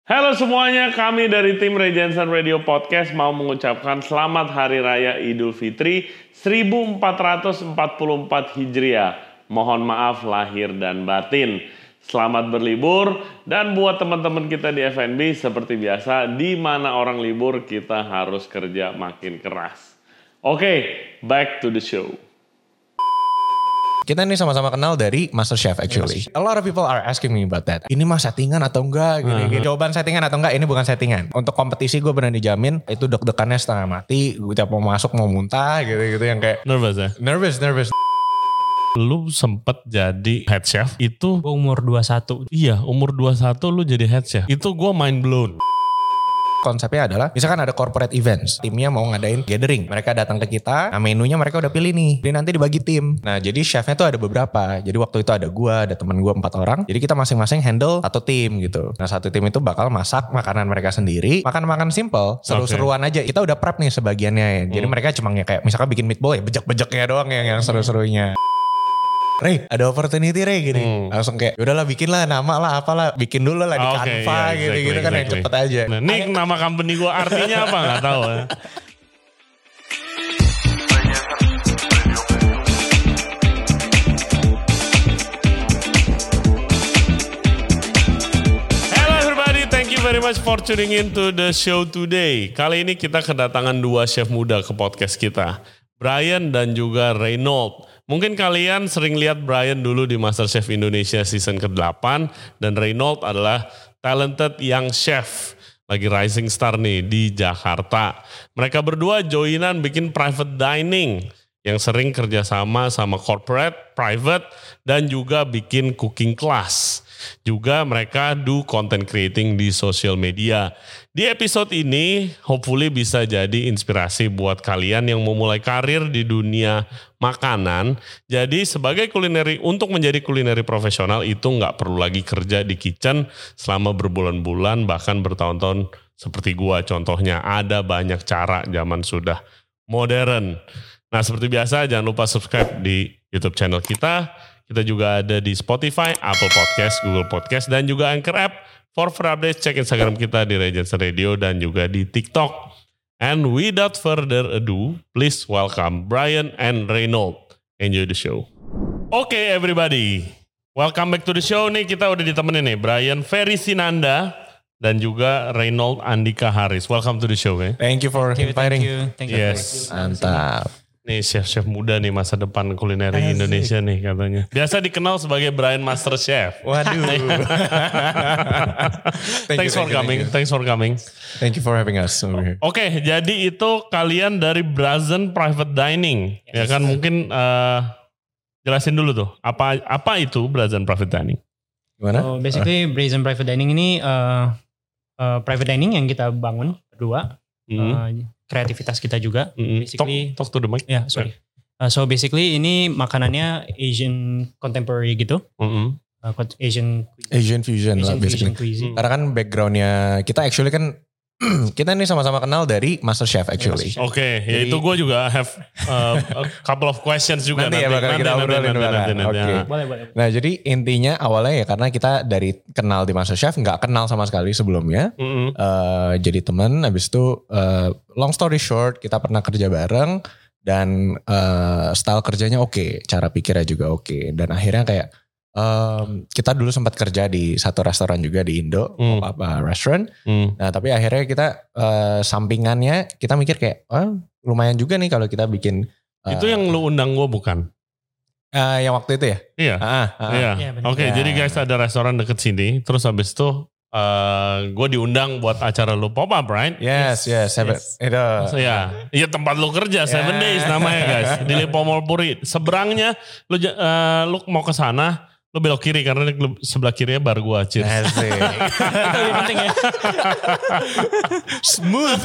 Halo semuanya, kami dari tim Regensen Radio Podcast mau mengucapkan selamat Hari Raya Idul Fitri 1444 Hijriah. Mohon maaf lahir dan batin. Selamat berlibur, dan buat teman-teman kita di FNB seperti biasa, di mana orang libur kita harus kerja makin keras. Oke, back to the show. Kita ini sama-sama kenal dari MasterChef actually. A lot of people are asking me about that. Ini mah settingan atau enggak? Gini. Jawaban settingan atau enggak, ini bukan settingan. Untuk kompetisi gue benar dijamin itu deg-degannya setengah mati. Gue tiap mau masuk mau muntah gitu-gitu yang kayak. Nervous ya? Nervous. Lu sempet jadi head chef itu? Gue umur 21. Iya, umur 21 lu jadi head chef. Itu gue mind blown. Konsepnya adalah, misalkan ada corporate events, timnya mau ngadain gathering, mereka datang ke kita, nah menunya mereka udah pilih nih, jadi nanti dibagi tim. Nah jadi chefnya tuh ada beberapa, jadi waktu itu ada gua, ada temen gua 4 orang, jadi kita masing-masing handle satu tim gitu. Nah satu tim itu bakal masak makanan mereka sendiri, makan simple, seru-seruan aja. Kita udah prep nih sebagiannya, jadi mereka cuma kayak misalkan bikin meatball ya, bejek-bejeknya doang yang seru-serunya. Ray, ada opportunity Ray gini. Langsung kayak, yaudahlah bikin lah nama lah apalah. Bikin dulu lah di Canva gitu kan yang cepet aja. Nah, ini nama company gue artinya apa gak tahu ya. Hello everybody, thank you very much for tuning in to the show today. Kali ini kita kedatangan 2 chef muda ke podcast kita. Brian dan juga Reynold. Mungkin kalian sering lihat Brian dulu di MasterChef Indonesia season ke-8 dan Reynold adalah talented young chef. Lagi rising star nih di Jakarta. Mereka berdua joinan bikin private dining yang sering kerjasama sama corporate, private, dan juga bikin cooking class. Juga mereka do content creating di social media. Di episode ini hopefully bisa jadi inspirasi buat kalian yang mau mulai karir di dunia makanan. Jadi sebagai untuk menjadi kulineri profesional itu nggak perlu lagi kerja di kitchen selama berbulan-bulan bahkan bertahun-tahun seperti gua. Contohnya ada banyak cara, zaman sudah modern. Nah seperti biasa jangan lupa subscribe di YouTube channel kita. Kita juga ada di Spotify, Apple Podcast, Google Podcast, dan juga Anchor App. For updates, cek Instagram kita di Regensen Radio dan juga di TikTok. And without further ado, please welcome Brian and Reynold. Enjoy the show. Okay everybody, welcome back to the show nih. Kita udah ditemenin nih, Brian Ferry Sinanda dan juga Reynold Andika Haris. Welcome to the show. Thank you for inviting. Thank you. Yes, mantap. Nih chef-chef muda nih masa depan kulineri Indonesia nih katanya. Biasa dikenal sebagai Brian Master Chef. Waduh. Thanks for coming. Thank you for having us. Oke, jadi itu kalian dari Brazen Private Dining. Ya kan mungkin jelasin dulu tuh. Apa itu Brazen Private Dining? Gimana? So basically Brazen Private Dining ini private dining yang kita bangun berdua. Kreativitas kita juga. Basically, talk to the mic. Yeah, sorry. So basically ini makanannya Asian contemporary gitu. Asian fusion lah basically. Cuisine. Karena kan backgroundnya kita actually kan kita ini sama-sama kenal dari MasterChef actually. Oke, ya itu gue juga have a couple of questions juga nanti. Bakal kita obrolin. Boleh. Nah jadi intinya awalnya ya karena kita dari kenal di MasterChef nggak kenal sama sekali sebelumnya. Jadi teman, habis itu long story short kita pernah kerja bareng dan style kerjanya oke, cara pikirnya juga oke, dan akhirnya kayak kita dulu sempat kerja di satu restoran juga di Indo, pop-up restaurant. Nah tapi akhirnya kita sampingannya kita mikir kayak lumayan juga nih kalau kita bikin. Itu yang lu undang gue bukan? Yang waktu itu ya? Iya. Iya, Oke, jadi guys ada restoran deket sini. Terus habis itu gue diundang buat acara lu pop-up, right? Yes. Itu. Iya tempat lu kerja 7 days namanya guys. Di Lipo Mall Puri. Seberangnya lu mau ke sana. Lu belok kiri karena sebelah kirinya bar gua. Cheers. Asik. Itu penting ya. Smooth.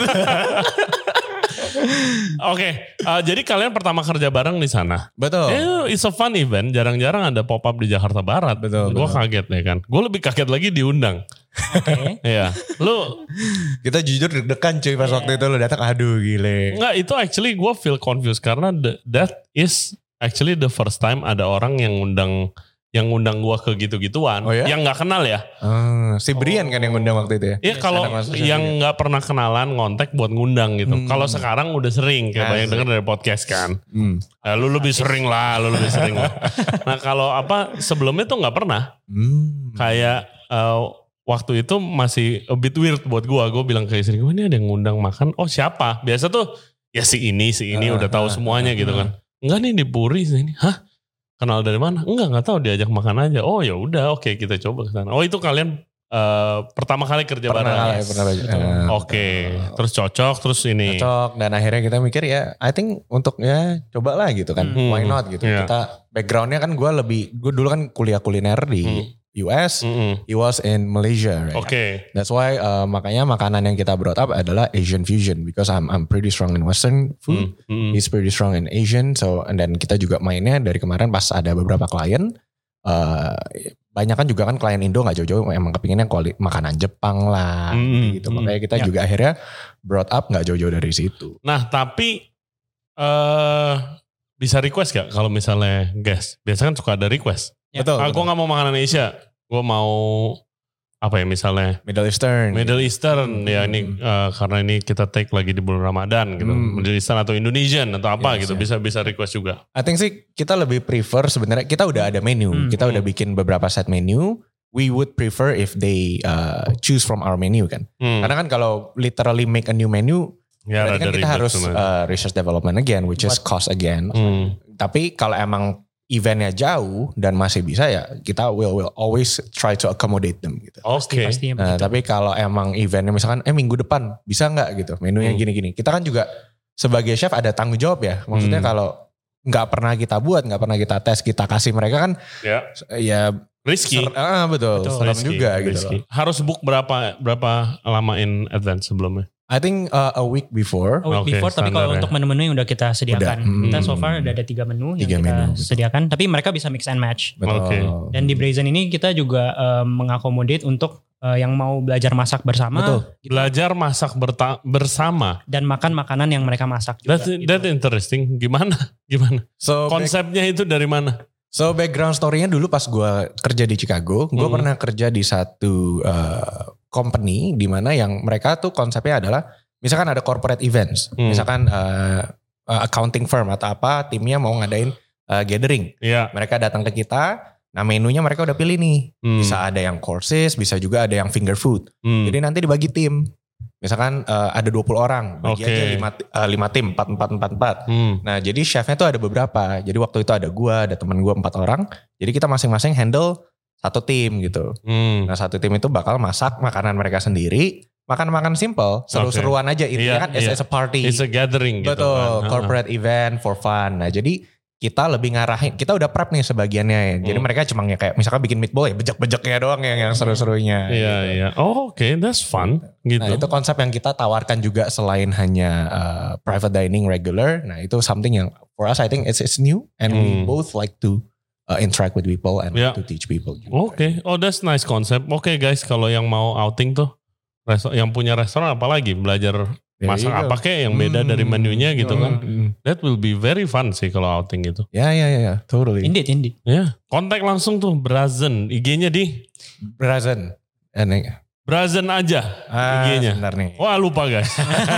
Oke, jadi kalian pertama kerja bareng di sana. Betul. It's a fun event. Jarang-jarang ada pop up di Jakarta Barat. Betul. Gue kaget ya kan. Gue lebih kaget lagi diundang. Oke. Iya. Lu kita jujur deg-degan cuy pas waktu itu lu datang, aduh gile. Enggak, itu actually gue feel confused karena that is actually the first time ada orang yang undang yang ngundang gua ke gitu-gituan. Oh ya? Yang nggak kenal ya. Si Brian kan yang ngundang waktu itu ya? Iya kalau yang nggak pernah kenalan ngontek buat ngundang gitu. Kalau sekarang udah sering kayak banyak denger dari podcast kan. Lu lebih sering lah. Nah kalau sebelumnya tuh nggak pernah. Kayak waktu itu masih a bit weird buat gue. Gue bilang ke istri gue, ini ada yang ngundang makan. Oh siapa? Biasa tuh ya si ini udah tahu semuanya gitu kan. Enggak nih di Puri sini. Hah? Kenal dari mana? Enggak tahu, diajak makan aja. Oh ya udah, oke kita coba ke sana. Oh itu kalian pertama kali kerja bareng. Oke. Terus cocok, terus ini. Cocok dan akhirnya kita mikir ya, I think untuk ya cobalah gitu kan. Why not gitu. Kita backgroundnya kan gue dulu kan kuliah kuliner di US, he was in Malaysia, right? Okay. That's why makanya makanan yang kita brought up adalah Asian fusion because I'm pretty strong in Western food, he's pretty strong in Asian, so and then kita juga mainnya dari kemarin pas ada beberapa klien, banyak kan juga kan klien Indo nggak jauh-jauh emang kepinginnya makanan Jepang lah, gitu. Makanya kita juga akhirnya brought up nggak jauh-jauh dari situ. Nah tapi bisa request gak kalau misalnya guest? Biasanya kan suka ada request. Ya. Betul. Gue gak mau makanan Asia. Gue mau apa ya misalnya? Middle Eastern. Ya ini karena ini kita take lagi di bulan Ramadan gitu. Middle Eastern atau Indonesian atau apa gitu. Bisa request juga. I think sih kita lebih prefer sebenarnya kita udah ada menu. Kita udah bikin beberapa set menu. We would prefer if they choose from our menu kan. Karena kan kalau literally make a new menu, berarti kan kita harus research development again, which is cost again. Tapi kalau emang eventnya jauh dan masih bisa ya kita will always try to accommodate them gitu. Oke. Tapi kalau emang eventnya misalkan minggu depan bisa nggak gitu menunya gini-gini. Kita kan juga sebagai chef ada tanggung jawab ya. Maksudnya kalau nggak pernah kita buat, nggak pernah kita tes, kita kasih mereka kan ya risky. Betul. Serem juga gitu. Harus book berapa lama in advance sebelumnya? I think a week before. Tapi kalau untuk menu-menu yang udah kita sediakan. Kita so far udah ada 3 menu yang kita sediakan. Tapi mereka bisa mix and match. Betul. Dan di Brazen ini kita juga mengakomodate untuk yang mau belajar masak bersama. Betul. Gitu. Belajar masak bersama. Dan makan makanan yang mereka masak juga. That's interesting. Gimana? So, konsepnya itu dari mana? So background story-nya dulu pas gue kerja di Chicago. Gue pernah kerja di satu company di mana yang mereka tuh konsepnya adalah misalkan ada corporate events, misalkan accounting firm atau apa timnya mau ngadain gathering, mereka datang ke kita, nah menunya mereka udah pilih nih, bisa ada yang courses, bisa juga ada yang finger food, jadi nanti dibagi tim, misalkan ada 20 orang, bagi aja 5 tim, 4. Nah jadi chefnya tuh ada beberapa, jadi waktu itu ada gue, ada teman gue 4 orang, jadi kita masing-masing handle satu tim gitu. Nah satu tim itu bakal masak makanan mereka sendiri. Makan simple, seru-seruan aja. Intinya kan it's a party. It's a gathering gitu. Betul, corporate event for fun. Nah jadi kita lebih ngarahin, kita udah prep nih sebagiannya. Jadi mereka cuma kayak misalkan bikin meatball ya bejek-bejeknya doang yang seru-serunya. Iya. Oh oke, that's fun. Gitu. Nah itu konsep yang kita tawarkan juga selain hanya private dining regular. Nah itu something yang for us I think it's new. And we both like to interact with people and to teach people. Oke. Oh that's nice concept. Oke guys, kalau yang mau outing tuh, yang punya restoran apalagi belajar masak apa kayak yang beda dari menunya gitu kan. That will be very fun sih kalau outing gitu. Ya, totally. Indeed. Ya, kontak langsung tuh Brazen, IG-nya di Brazen. Brazen aja IG-nya. Sebentar nih. Wah lupa guys.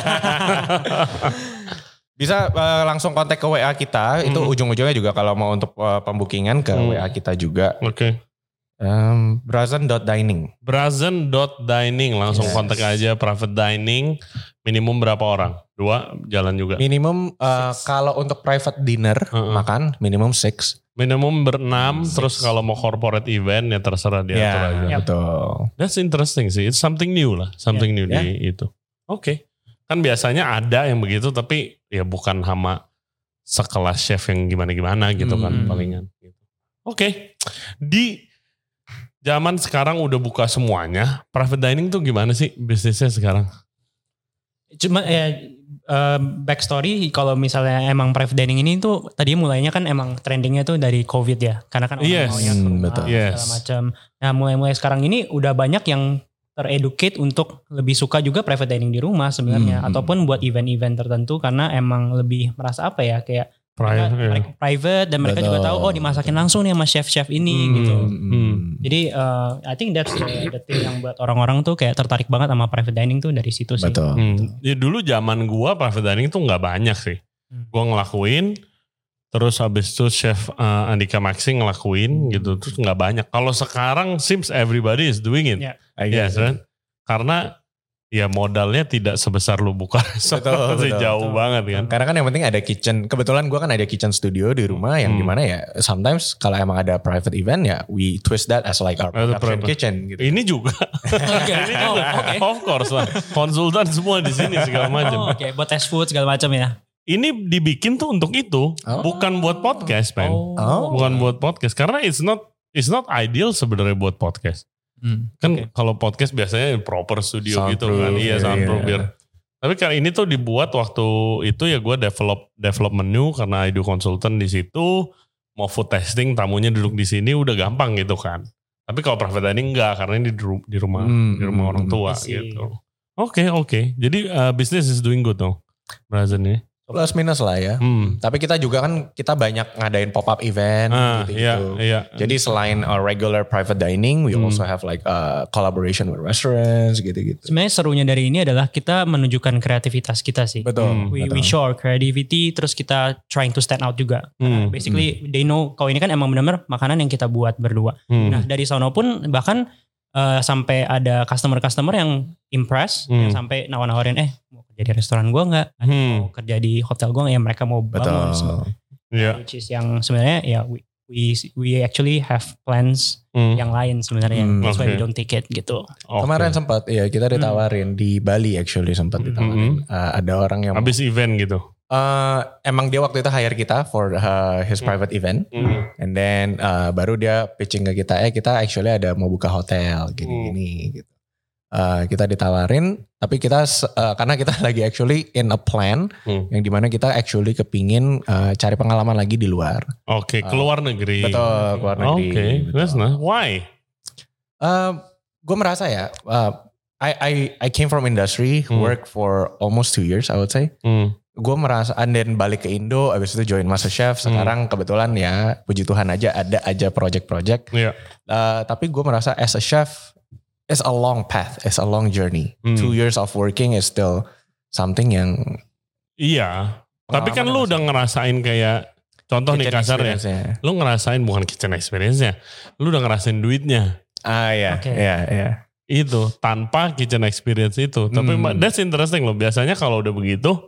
Bisa langsung kontak ke WA kita, itu ujung-ujungnya juga kalau mau untuk pembookingan ke WA kita juga. Oke. Brazen.dining. Brazen.dining langsung kontak aja, private dining, minimum berapa orang? 2 jalan juga. Minimum kalau untuk private dinner makan minimum 6. Minimum 6, terus kalau mau corporate event ya terserah diatur aja. Betul. That's interesting sih, it's something new lah, new di itu. Oke. Kan biasanya ada yang begitu tapi ya bukan sama sekelas chef yang gimana-gimana gitu kan palingan. Oke. Di zaman sekarang udah buka semuanya, private dining tuh gimana sih bisnisnya sekarang? Cuma backstory kalau misalnya emang private dining ini tuh tadi mulainya kan emang trendingnya tuh dari COVID ya. Karena kan orang maunya ke rumah segala macam. Nah mulai sekarang ini udah banyak yang tereducate untuk lebih suka juga private dining di rumah sebenarnya. Ataupun buat event-event tertentu karena emang lebih merasa apa ya kayak private dan mereka juga tahu dimasakin langsung nih sama chef-chef ini gitu. Jadi I think that's the thing yang buat orang-orang tuh kayak tertarik banget sama private dining tuh dari situ sih. Ya dulu zaman gua private dining tuh nggak banyak sih. Gua ngelakuin, terus habis itu chef Andika Maxi ngelakuin gitu, terus nggak banyak. Kalau sekarang seems everybody is doing it. Yes, right? Karena ya modalnya tidak sebesar lu buka restoran sih, jauh banget kan. Karena kan yang penting ada kitchen. Kebetulan gue kan ada kitchen studio di rumah yang dimana ya sometimes kalau emang ada private event ya we twist that as like our production kitchen gitu. Ini juga. Ini juga. Of course lah. Konsultan semua di sini segala macam. Buat test food segala macam ya. Ini dibikin tuh untuk itu, bukan buat podcast, man. Bukan buat podcast karena it's not ideal sebenarnya buat podcast. Kan kalau podcast biasanya proper studio soundproof, gitu kan. Iya, soundproof biar. Tapi kan ini tuh dibuat waktu itu ya gue develop menu karena I do konsultan di situ. Mau food testing tamunya duduk di sini udah gampang gitu kan. Tapi kalau private dining enggak karena ini di rumah orang tua gitu. Oke. Jadi business is doing good dong. Brazen ya. Plus minus lah ya. Tapi kita juga kan kita banyak ngadain pop-up event gitu. Iya. Jadi selain regular private dining, we also have like collaboration with restaurants gitu-gitu. Sebenarnya serunya dari ini adalah kita menunjukkan kreativitas kita sih. Betul. We show our creativity, terus kita trying to stand out juga. Basically they know kalau ini kan emang benar-benar makanan yang kita buat berdua. Nah dari sono pun bahkan sampai ada customer yang impress, yang sampai nawar-nawarin mau kerja di restoran gue nggak, mau kerja di hotel gue nggak, ya mereka mau bangun semua. Which is yang sebenarnya ya we actually have plans yang lain sebenarnya. That's why we don't take it gitu. Kemarin sempat kita ditawarin di Bali actually sempat ditawarin. Ada orang yang habis event gitu. Emang dia waktu itu hire kita for his private event, and then baru dia pitching ke kita, kita actually ada mau buka hotel gini gitu. Kita ditawarin, tapi kita karena kita lagi actually in a plan yang dimana kita actually kepingin cari pengalaman lagi di luar. Keluar negeri. Betul, keluar negeri. That's nice. Why? Gue merasa ya, I came from industry, work for almost 2 years I would say. Gue merasa, and then balik ke Indo, abis itu join MasterChef. Sekarang kebetulan ya, puji Tuhan aja ada aja project-project. Tapi gue merasa as a chef, it's a long path, it's a long journey. 2 years of working is still something yang... Iya, tapi kan lu udah ngerasain kayak, contoh nih kasarnya, lu ngerasain bukan kitchen experience-nya, lu udah ngerasain duitnya. Iya. Itu, tanpa kitchen experience itu. Tapi that's interesting loh, biasanya kalau udah begitu,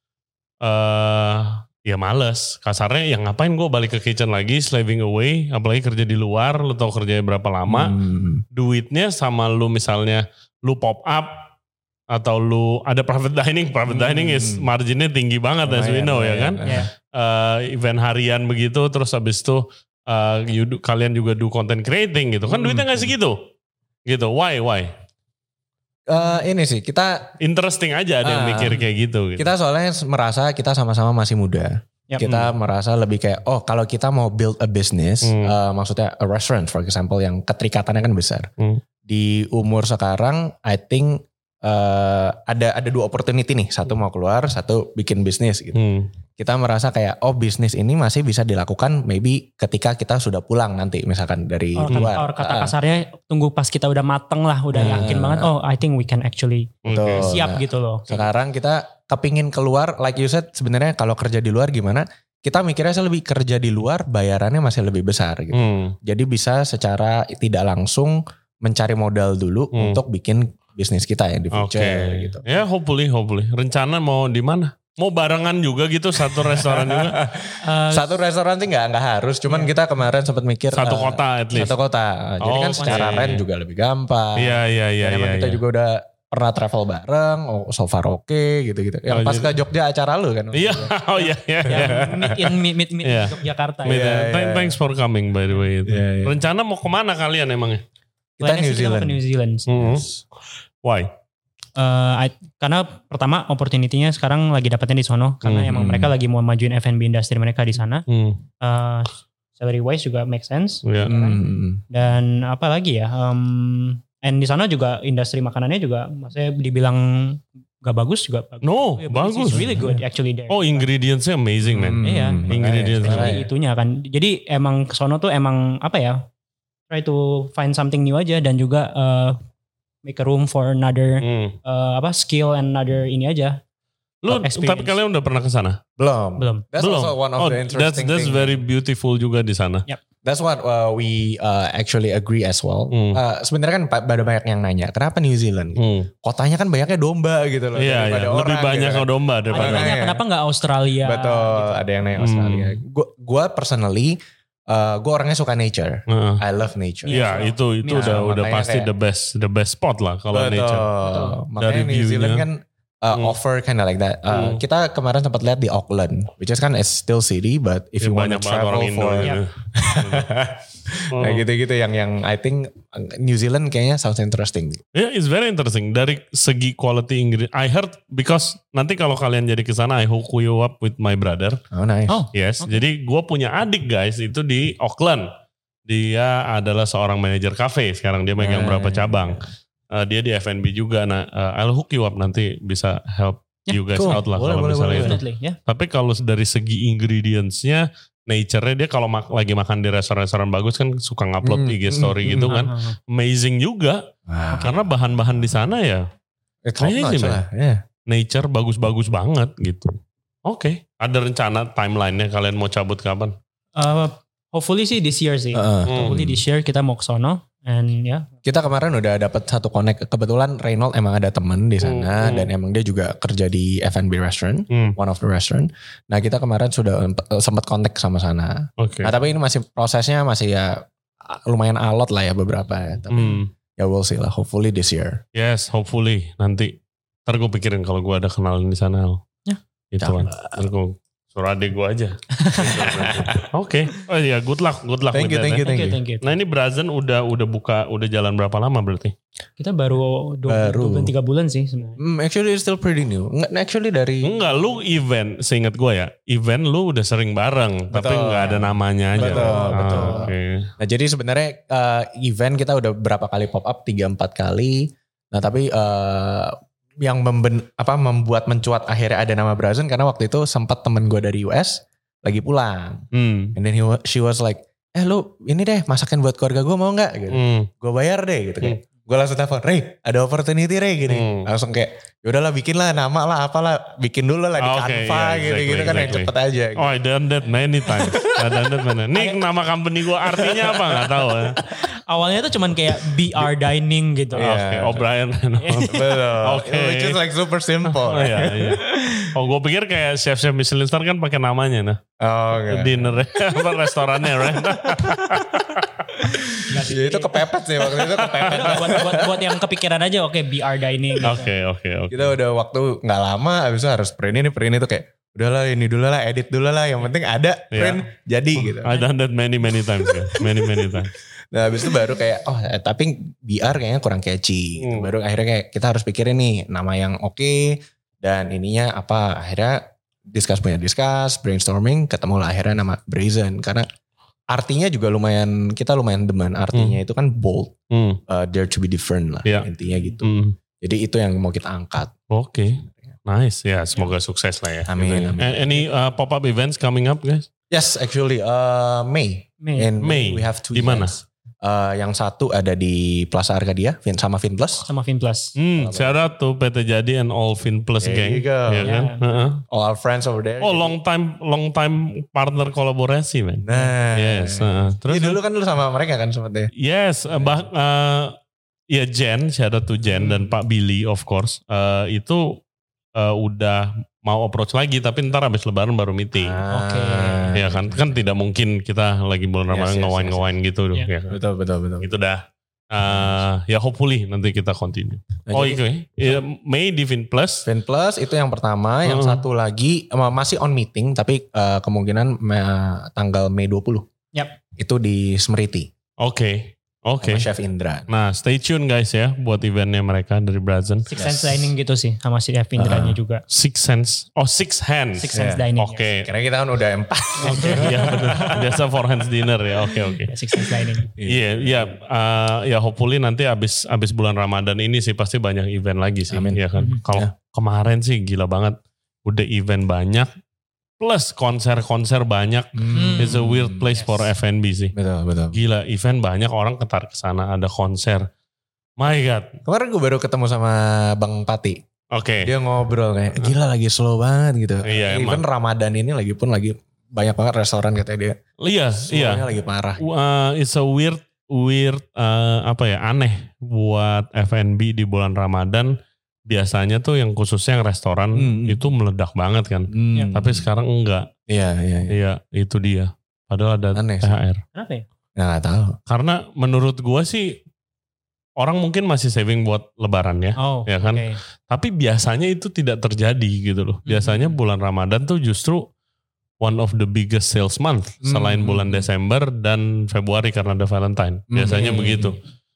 ya males. Kasarnya ya ngapain gue balik ke kitchen lagi, slaving away, apalagi kerja di luar, lu tau kerjanya berapa lama, duitnya sama lu misalnya lu pop up atau lu ada private dining is marginnya tinggi banget as we know ya kan. Event harian begitu, terus habis itu kalian juga do content creating gitu kan, duitnya gak segitu gitu. Why? Ini sih kita interesting aja ada yang mikir kayak gitu. Kita soalnya merasa kita sama-sama masih muda. Kita merasa lebih kayak kalau kita mau build a business, maksudnya a restaurant for example yang keterikatannya kan besar. Di umur sekarang I think ada 2 opportunity nih, satu mau keluar, satu bikin bisnis gitu. Kita merasa kayak bisnis ini masih bisa dilakukan maybe ketika kita sudah pulang nanti misalkan dari luar. Kata kasarnya tunggu pas kita udah mateng lah, udah yakin banget. I think we can actually siap gitu loh. Sekarang kita kepingin keluar, like you said sebenarnya kalau kerja di luar gimana? Kita mikirnya lebih kerja di luar bayarannya masih lebih besar gitu. Jadi bisa secara tidak langsung mencari modal dulu untuk bikin bisnis kita ya di future gitu. Ya hopefully. Rencana mau di mana? Mau barengan juga gitu, satu restoran juga? Satu restoran sih nggak harus, cuman kita kemarin sempat mikir satu kota at least. Satu kota, jadi kan secara rent juga lebih gampang. Iya. Emang kita juga udah pernah travel bareng, so far oke gitu. Yang pas ke Jogja acara lu kan? Iya, meet Yogyakarta. Thanks for coming by the way. Rencana mau kemana kalian emangnya? Kita New Zealand. Why? Karena pertama opportunity-nya sekarang lagi dapetnya di sono, karena emang mereka lagi mau majuin F&B industri mereka di sana. Salary wise juga make sense. Dan apa lagi ya? And di sana juga industri makanannya juga, maksudnya dibilang gak bagus juga bagus. No, bagus. It's really good actually there. Oh, ingredientsnya amazing man. Iya. Ingredients. Itunya kan. Jadi emang kesono tuh emang apa ya? Try to find something new aja dan juga make a room for another skill and another ini aja. Lu tapi kalian udah pernah ke sana? Belum. That's also one of the interesting that's very beautiful juga di sana. Yep. That's what we actually agree as well. Sebenarnya kan ada banyak yang nanya, kenapa New Zealand? Kotanya kan banyaknya domba gitu loh. Iya, lebih banyak gitu. Domba daripada. Ada yang kenapa nggak Australia? Betul, gitu. Ada yang nanya Australia. Gue personally, gue orangnya suka nature. I love nature. Iya, itu udah pasti kayak, the best spot lah kalau nature. Makanya New Zealand kan offer kind of like that. Kita kemarin sempat lihat di Auckland, which is kan is still city, but if you want to travel for kayak gitu-gitu yang I think New Zealand kayaknya sounds interesting. Yeah, it's very interesting dari segi quality ingredient. I heard because nanti kalau kalian jadi kesana, I hook you up with my brother. Oh nice. Yes, jadi gue punya adik guys itu di Auckland. Dia adalah seorang manajer cafe. Sekarang dia megang berapa cabang. Dia di F&B juga. Nah, I'll hook you up nanti bisa help you guys out lah kalau misalnya itu. Tapi kalau dari segi ingredientsnya, nature-nya dia kalau lagi makan di restoran-restoran bagus kan suka ngupload IG story gitu kan. Amazing juga. Karena bahan-bahan di sana ya. Amazing man. Nature bagus-bagus banget gitu. Oke. Ada rencana timeline-nya kalian mau cabut kapan? Hopefully sih this year sih. Hopefully this year kita mau ke sono. And kita kemarin udah dapat satu connect. Kebetulan Reynold emang ada temen di sana dan emang dia juga kerja di F&B restaurant, one of the restaurant. Nah kita kemarin sudah sempat kontak sama sana. Nah tapi ini prosesnya masih ya lumayan alot lah ya beberapa ya. Tapi ya we'll see lah. Hopefully this year. Yes, hopefully nanti. Ntar gue pikirin kalau gue ada kenalan di sana. Itu kan. Ntar gue suruh adek gue aja. Oke. Oh iya, good luck. Thank you. Nah ini Brazen udah buka, udah jalan berapa lama berarti? Kita baru 2-3 bulan sih sebenarnya. Actually it's still pretty new. Actually dari... Enggak, lu event, seingat gue ya, event lu udah sering bareng, tapi nggak ada namanya aja. Betul. Okay. Nah jadi sebenarnya event kita udah berapa kali pop up, 3-4 kali. Nah tapi... yang membuat mencuat akhirnya ada nama Brazen karena waktu itu sempat temen gue dari US lagi pulang. And then she was like, lu ini deh masakin buat keluarga gue mau gak? Gitu. Gue bayar deh gitu kayak. Gue langsung telepon, Ray ada opportunity Ray gini. Langsung kayak yaudahlah bikin lah nama lah apalah. Bikin dulu lah di Canva gitu kan yang cepet aja. Gitu. Oh I done that many times. Nih nama company gue artinya apa gak tahu ya. Awalnya tuh cuman kayak BR Dining gitu. Oke, O'Brien. Oke. Which is like super simple. Iya. Oh gue pikir kayak chef-chef Michelin Star kan pakai namanya nah. Dinner restorannya right. Ya itu kepepet sih waktu itu kepepet. buat yang kepikiran aja BR Dining. Oke. Kita udah waktu gak lama abis itu harus print ini tuh kayak udahlah ini dulu lah edit dulu lah yang penting ada print jadi gitu. I done that many times guys. Many times. Nah habis itu baru kayak tapi BR kayaknya kurang catchy. Baru akhirnya kayak kita harus pikirin nih nama yang oke dan ininya apa. Akhirnya discuss brainstorming ketemulah akhirnya nama Brazen karena artinya juga kita lumayan demen artinya itu kan bold, dare to be different lah intinya gitu. Jadi itu yang mau kita angkat. Oke. Nice ya, semoga sukses lah ya. Amin. Any pop-up events coming up guys? Yes, actually May. In May we have 2 di mana? Yang satu ada di Plaza Arcadia sama Finplus. Shout out to PT Jadi and all Finplus gang. Ya kan? All our friends over there. Oh long time partner kolaborasi man. Nah. Yes. Terus dulu kan lu sama mereka kan seperti. Yes. Ya Jen, shout out to Jen dan Pak Billy of course. Itu udah mau approach lagi tapi ntar habis lebaran baru meeting. Oke. Ya kan tidak mungkin kita lagi bulan Ramadan ngawain gitu. Ya. Betul. Itu dah. Ya hopefully nanti kita continue. Nah, itu ya. May di Finplus. Finplus itu yang pertama, yang satu lagi masih on meeting tapi kemungkinan tanggal Mei 20. Yap. Itu di Smriti. Oke. Sama Chef Indra. Nah stay tune guys ya buat eventnya mereka dari Brazen. Six Sense Dining gitu sih sama si Chef Indranya juga. Six Sense Hands Dining. Oke. Karena kita kan udah 4. Oke. Iya benar. Biasa 4 hands dinner ya. Oke. Six Sense Dining. Iya. Ya hopefully nanti abis bulan Ramadan ini sih pasti banyak event lagi sih. Amin. Ya kan. kemarin sih gila banget. Udah event banyak. Plus konser-konser banyak. It's a weird place for F&B sih. Betul. Gila, event banyak, orang ketarik ke sana, ada konser. My God. Kemarin gue baru ketemu sama Bang Pati. Oke. Dia ngobrol kayak, gila lagi slow banget gitu. Iya, Even Ramadan ini lagi banyak banget restoran katanya dia. Iya. Slownya lagi parah. It's a weird aneh buat F&B di bulan Ramadan. Biasanya tuh yang khususnya yang restoran itu meledak banget kan. Tapi sekarang enggak. Iya, itu dia. Padahal ada aneh, THR. Kenapa ya? Nggak tahu. Karena menurut gua sih orang mungkin masih saving buat lebaran ya. Ya kan? Okay. Tapi biasanya itu tidak terjadi gitu loh. Biasanya bulan Ramadan tuh justru one of the biggest sales month. Selain bulan Desember dan Februari karena ada Valentine. Biasanya begitu.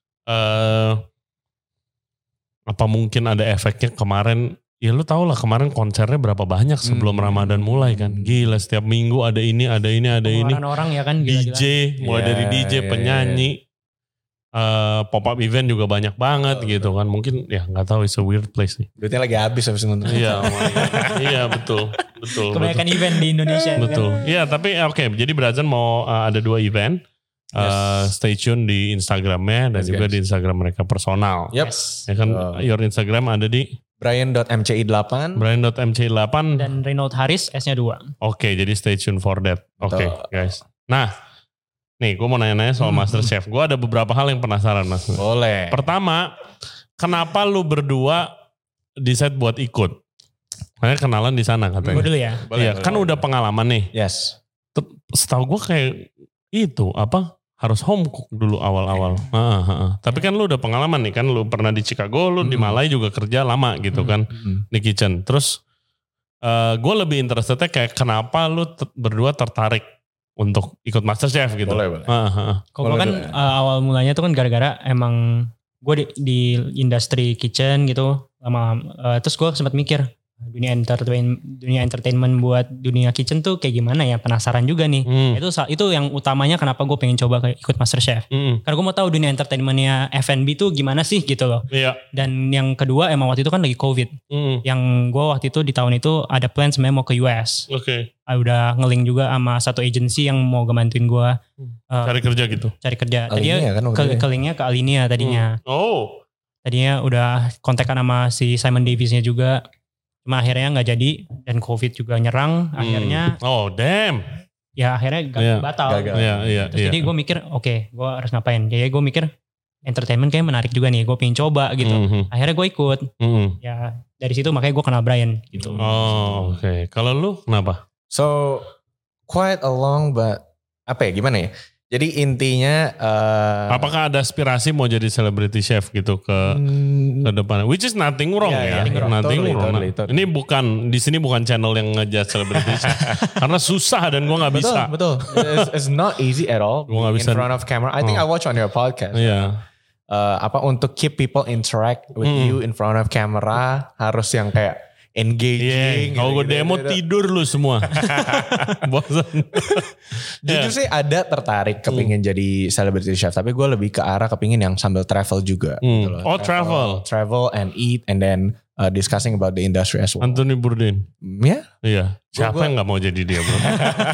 Apa mungkin ada efeknya kemarin? Ya lu tau lah kemarin konsernya berapa banyak sebelum Ramadan mulai kan. Gila setiap minggu ada ini. Orang ya kan. DJ, mulai dari DJ, penyanyi. Pop-up event juga banyak banget gitu kan. Mungkin ya gak tahu, it's a weird place nih. Duitnya lagi habis habis nonton. Iya betul. Kebanyakan event di Indonesia. Betul. Iya kan? Tapi oke. Jadi Brajan mau ada 2 event. Stay tune di Instagramnya dan juga di Instagram mereka personal. Yes. Ya kan, your Instagram ada di Brian.mci8 dan Reynolds Haris S-nya 2. Oke, jadi stay tune for that. Oke, guys. Nah, nih gue mau nanya-nanya soal MasterChef. Gue ada beberapa hal yang penasaran, Mas. Boleh. Pertama, kenapa lu berdua decide buat ikut? Karena kenalan di sana katanya. Gue dulu ya. Iya, kan udah pengalaman nih. Yes. Setahu gue kayak itu harus home cook dulu awal-awal. Tapi kan lu udah pengalaman nih kan, lu pernah di Chicago, lu di Malai juga kerja lama gitu kan di kitchen. Terus gue lebih interestednya kayak kenapa lu berdua tertarik untuk ikut MasterChef gitu. Boleh. Kalau kan awal mulanya tuh kan gara-gara emang gue di industri kitchen gitu lama. Terus gue sempat mikir dunia entertainment buat dunia kitchen tuh kayak gimana ya, penasaran juga nih. Itu yang utamanya kenapa gue pengen coba ikut MasterChef. Karena gue mau tahu dunia entertainmentnya F&B tuh gimana sih gitu loh. Dan yang kedua emang waktu itu kan lagi COVID. Yang gue waktu itu di tahun itu ada plan sebenarnya mau ke US. Udah nge-link juga sama satu agency yang mau ngebantuin gue cari kerja gitu. Tadinya kan, ke linknya ke Alinea tadinya. Tadinya udah kontekan sama si Simon Davis-nya juga. Cuma akhirnya gak jadi dan COVID juga nyerang. Akhirnya ya akhirnya batal. Jadi gue mikir oke, gue harus ngapain. Jadi gue mikir entertainment kayak menarik juga nih. Gue pengen coba gitu. Akhirnya gue ikut. Ya dari situ makanya gue kenal Brian gitu. Oke. Kalau lu kenapa? So quite a long but gimana ya? Jadi intinya apakah ada aspirasi mau jadi celebrity chef gitu ke depan? Which is nothing wrong ya. Nothing wrong. Totally. Ini di sini bukan channel yang ngejudge celebrity chef. Karena susah dan gue gak bisa. Betul. It's not easy at all. Gue gak bisa. In front of camera. I think I watch on your podcast. Untuk keep people interact with you in front of camera harus yang kayak engaging. Kalau gue demo tidur lu semua. Bosan. Jujur sih ada tertarik kepingin jadi celebrity chef. Tapi gue lebih ke arah kepingin yang sambil travel juga. Gitu loh. Travel and eat and then discussing about the industry as well. Anthony Bourdain. Iya. Siapa yang gak mau jadi dia bro?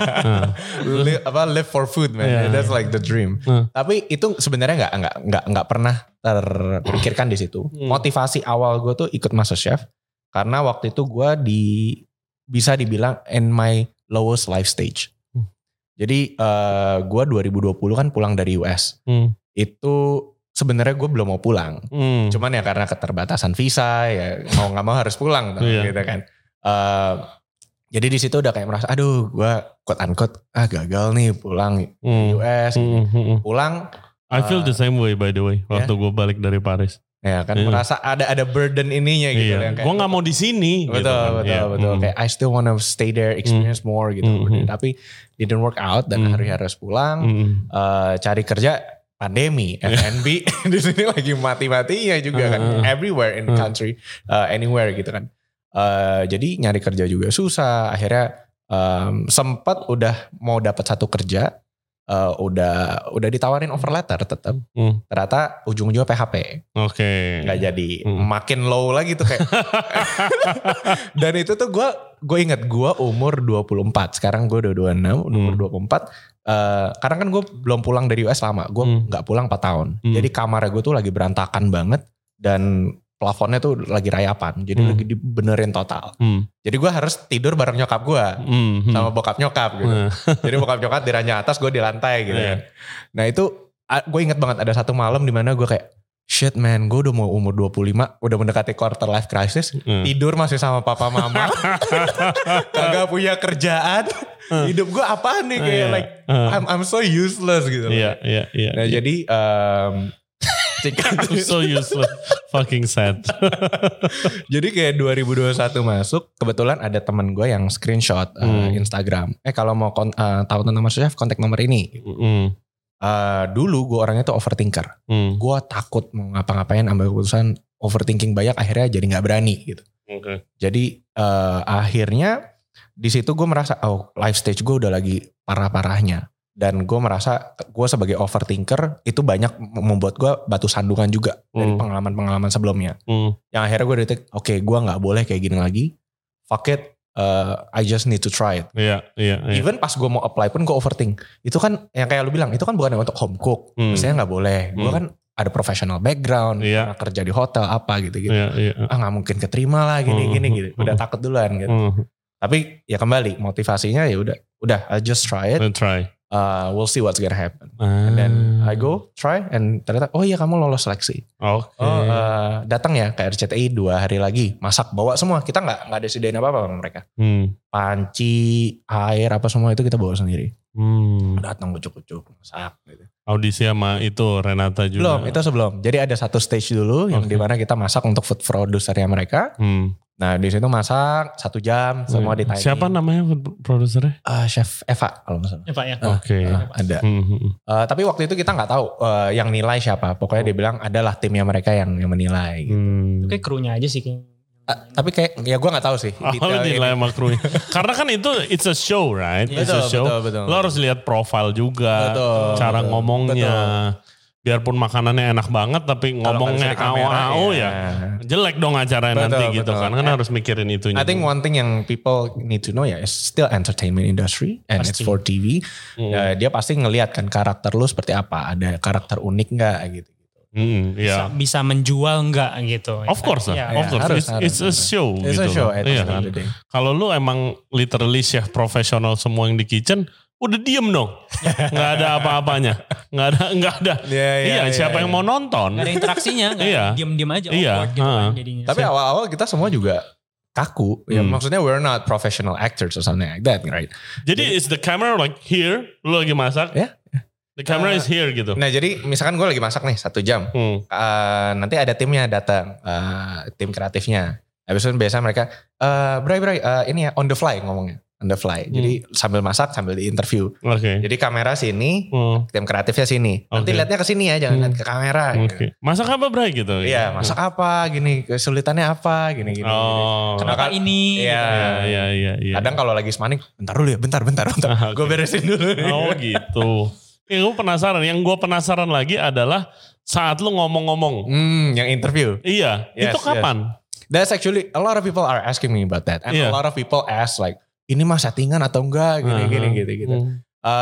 Live for food man. That's like the dream. Tapi itu sebenarnya nggak pernah terpikirkan di situ. Motivasi awal gue tuh ikut MasterChef. Karena waktu itu gue bisa dibilang in my lowest life stage. Jadi gue 2020 kan pulang dari US. Itu sebenarnya gue belum mau pulang. Cuman ya karena keterbatasan visa ya mau gak mau harus pulang. Gitu kan. Jadi di situ udah kayak merasa aduh gue quote unquote gagal nih pulang US. Pulang. I feel the same way by the way. Waktu gue balik dari Paris. Ya kan merasa ada burden ininya gitu. Gue gak mau di sini. Betul. Kayak I still wanna stay there, experience more gitu. Tapi didn't work out dan harus pulang. Cari kerja pandemi, F&B di sini lagi mati-matinya juga kan. Everywhere in the country, anywhere gitu kan. Jadi nyari kerja juga susah. Akhirnya sempat udah mau dapat satu kerja. udah ditawarin offer letter tetap. Ternyata ujung-ujungnya PHP. Oke. Nggak jadi. Makin low lagi tuh kayak. Dan itu tuh gue inget gue umur 24. Sekarang gue udah 26, umur 24. Karena kan gue belum pulang dari US lama. Gue gak pulang 4 tahun. Jadi kamar gue tuh lagi berantakan banget. Dan plafonnya tuh lagi rayapan. Jadi lagi dibenerin total. Jadi gue harus tidur bareng nyokap gue. Sama bokap nyokap gitu. Jadi bokap nyokap di ranjang atas, gue di lantai gitu kan. Nah itu gue inget banget ada satu malam dimana gue kayak, shit man, gue udah mau umur 25, udah mendekati quarter life crisis, tidur masih sama papa mama, kagak punya kerjaan, hidup gue apaan nih kayak I'm so useless gitu. Iya. Nah jadi I'm so useless, fucking sad. Jadi kayak 2021 masuk, kebetulan ada teman gue yang screenshot Instagram. Kalau mau tahu tentang Master Chef, kontak nomor ini. Dulu gue orangnya tuh overthinker. Gue takut mau ngapa-ngapain, ambil keputusan overthinking banyak, akhirnya jadi nggak berani gitu. Jadi akhirnya di situ gue merasa life stage gue udah lagi parah-parahnya, dan gue merasa gue sebagai overthinker itu banyak membuat gue batu sandungan juga dari pengalaman-pengalaman sebelumnya. Yang akhirnya gue detik, oke, gue nggak boleh kayak gini lagi. Fuck it. I just need to try it. Iya. Even pas gue mau apply pun gue overthink. Itu kan yang kayak lu bilang, itu kan bukan untuk home cook. Misalnya nggak boleh. Gue kan ada professional background, pernah kerja di hotel apa gitu-gitu. Nggak mungkin keterima lah gini gitu. Udah takut duluan gitu. Tapi ya kembali motivasinya ya udah I just try it. We'll see what's gonna happen. And then I go try and ternyata iya kamu lolos seleksi. Datang ya ke RCTI 2 hari lagi, masak bawa semua. Kita nggak ada sediain apa-apa sama mereka. Panci, air apa semua itu kita bawa sendiri. Datang kucuk-kucuk masak gitu. Audisi sama itu Renata juga. Belum, itu sebelum. Jadi ada satu stage dulu yang dimana kita masak untuk food producernya mereka. Nah di situ masak 1 jam semua di timing. Siapa namanya produsernya? Chef Eva kalau nggak salah. Eva ya. Oke. Ada. Tapi waktu itu kita nggak tahu yang nilai siapa. Pokoknya dia bilang adalah timnya mereka yang menilai. Gitu. Itu kayak krunya aja sih kayaknya. Tapi kayak ya gue nggak tahu sih. Nilai sama krunya. Karena kan itu it's a show right? It's a show. Betul. Lo harus lihat profile juga. Cara ngomongnya. Biarpun makanannya enak banget tapi ngomongnya AO ya jelek dong acaranya nanti gitu kan harus mikirin itunya. I think one thing yang people need to know ya is still entertainment industry and it's for TV. Dia pasti ngelihat kan karakter lu seperti apa, ada karakter unik nggak gitu. Bisa menjual nggak gitu. Of course. It's a show it's gitu. A show Kalau lu emang literally chef profesional semua yang di kitchen, udah diem dong. Nggak ada apa-apanya. Nggak ada. Siapa yang mau nonton? Nggak ada interaksinya. Diem-diem aja. Gitu kan jadinya. Tapi awal-awal kita semua juga kaku. Ya maksudnya we're not professional actors or something like that, right? Jadi is the camera like here? Lu lagi masak? The camera is here gitu. Nah jadi misalkan gue lagi masak nih 1 jam. Nanti ada timnya datang. Tim kreatifnya. Habis itu biasa mereka, Bray, ini ya on the fly ngomongnya. On the fly. Jadi sambil masak, sambil di interview. Jadi kamera sini, tim kreatifnya sini. Nanti lihatnya ke sini ya, jangan lihat ke kamera. Gitu. Masak apa Bray gitu? Iya, masak apa gini, kesulitannya apa gini. Kenapa ini? Iya. Kadang kalau lagi semaning, bentar dulu ya, bentar. Gue beresin dulu. Gitu. Yang gue penasaran lagi adalah saat lu ngomong-ngomong. Yang interview. Iya, itu kapan? That's actually, a lot of people are asking me about that. And a lot of people ask like, ini mah settingan atau enggak gini gitu.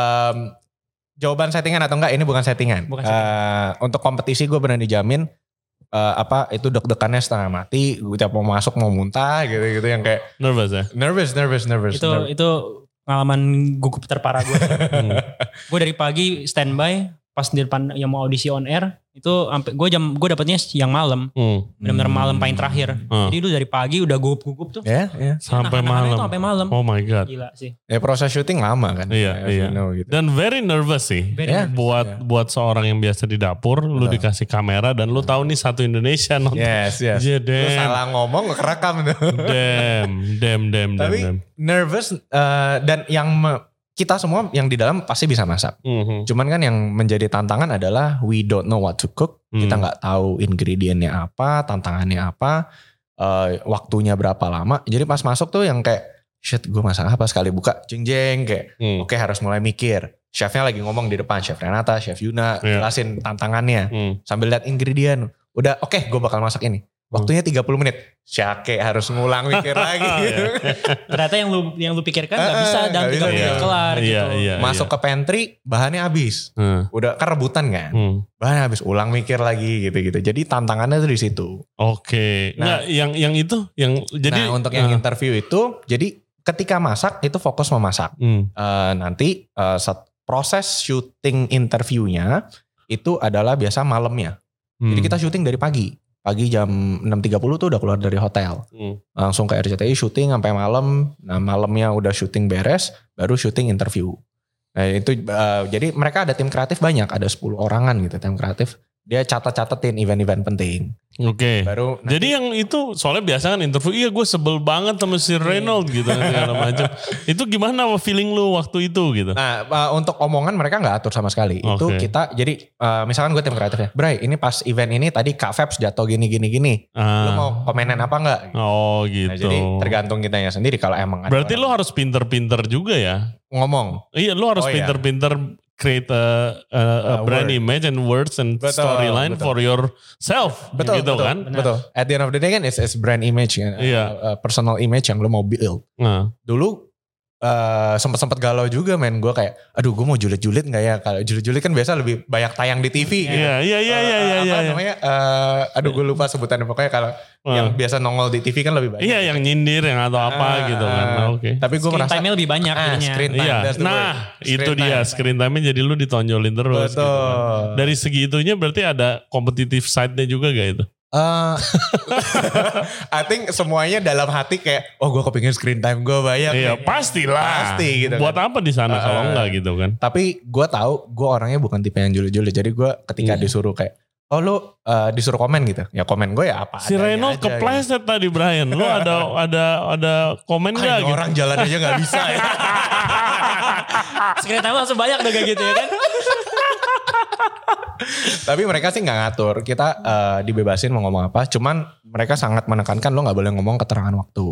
Jawaban settingan atau enggak ini bukan settingan. Untuk kompetisi gue benar dijamin itu deg-degannya setengah mati. Gue tiap mau masuk mau muntah gitu yang kayak nervous ya. Nervous. Itu pengalaman gugup terparah gue. Gue dari pagi standby pas di depan yang mau audisi on air itu sampai gue dapetnya yang malam. Benar-benar malam paling terakhir. Jadi lu dari pagi udah gugup tuh. Sampai malam. Oh my god. Gila sih. Ya proses syuting lama kan. Iya. Gitu. Dan very nervous sih. Buat seorang yang biasa di dapur, lu dikasih kamera dan lu tahu nih satu Indonesia nonton. Yes. Lu salah ngomong gak kerekam tuh. Damn. Tapi nervous dan yang kita semua yang di dalam pasti bisa masak. Cuman kan yang menjadi tantangan adalah we don't know what to cook. Kita gak tahu ingredientnya apa, tantangannya apa, waktunya berapa lama. Jadi pas masuk tuh yang kayak, shit gue masak apa, sekali buka jeng kayak oke, harus mulai mikir. chefnya lagi ngomong di depan, Chef Renata, Chef Yuna, jelasin tantangannya. Sambil lihat ingredient. Udah oke, gue bakal masak ini. Waktunya 30 menit. Syake harus ngulang mikir lagi gitu. Ternyata yang lu pikirkan gak bisa dan 30 menit kelar gitu. Masuk ke pantry, bahannya habis. Udah kan rebutan kan. Bahannya habis, ulang mikir lagi gitu-gitu. Jadi tantangannya tuh di situ. Oke. Nah, yang itu yang jadi untuk yang interview itu, jadi ketika masak itu fokus memasak. Nanti proses syuting interviewnya itu adalah biasa malamnya. Jadi kita syuting dari pagi jam 6.30 tuh udah keluar dari hotel. Langsung ke RCTI syuting sampai malam. Nah malamnya udah syuting beres, baru syuting interview. Nah itu jadi mereka ada tim kreatif banyak, ada 10 orangan gitu tim kreatif. Dia catat-catatin event-event penting. Oke. Baru jadi yang itu soalnya biasa kan interview, iya gue sebel banget sama si Reynolds gitu segala macam. Itu gimana feeling lu waktu itu gitu? Nah untuk omongan mereka nggak atur sama sekali. Itu kita jadi misalkan gue tim kreatifnya, Bray ini pas event ini tadi Kak Febs jatuh gini. Lu mau komenan apa nggak? Oh gitu. Nah, jadi tergantung kitanya sendiri kalau emang ada. Berarti lu harus pinter-pinter juga ya? Ngomong. Iya lu harus pinter-pinter create a brand image and words and storyline for yourself. Betul, gitu betul, kan? Betul. At the end of the day kan it's brand image, personal image yang lo mau build. Dulu sempet galau juga men, gue kayak aduh gue mau julid-julid gak ya, kalau julid-julid kan biasa lebih banyak tayang di TV gitu. Iya. Namanya aduh gue lupa sebutannya, pokoknya kalau yang biasa nongol di TV kan lebih banyak. Iya yang nyindir yang atau apa gitu kan. Tapi gue merasa screen time-nya lebih banyak screen time. Itu dia screen time-nya jadi lu ditonjolin terus. Betul. Gitu kan. Dari segi itunya berarti ada competitive side-nya juga gak itu? I think semuanya dalam hati kayak gue kepingin screen time gue banyak. Iya pastilah. Pasti gitu. Buat apa di sana kalau enggak gitu kan? Tapi gue tahu gue orangnya bukan tipe yang julid-julid. Jadi gue ketika disuruh kayak lu disuruh komen gitu. Ya komen gue ya apa si Reynolds kepleset gitu. Tadi Brian. Lu ada komen gak gitu? Orang jalan aja gak bisa ya. Screen time langsung banyak udah kayak gitu ya kan. Tapi mereka sih gak ngatur. Kita dibebasin mau ngomong apa. Cuman mereka sangat menekankan lo gak boleh ngomong keterangan waktu.